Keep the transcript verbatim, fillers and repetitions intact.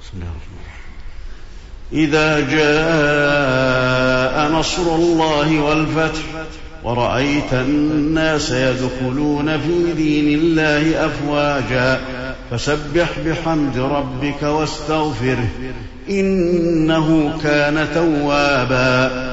إذا جاء نصر الله والفتح ورأيت الناس يدخلون في دين الله أفواجا فسبح بحمد ربك واستغفره إنه كان توابا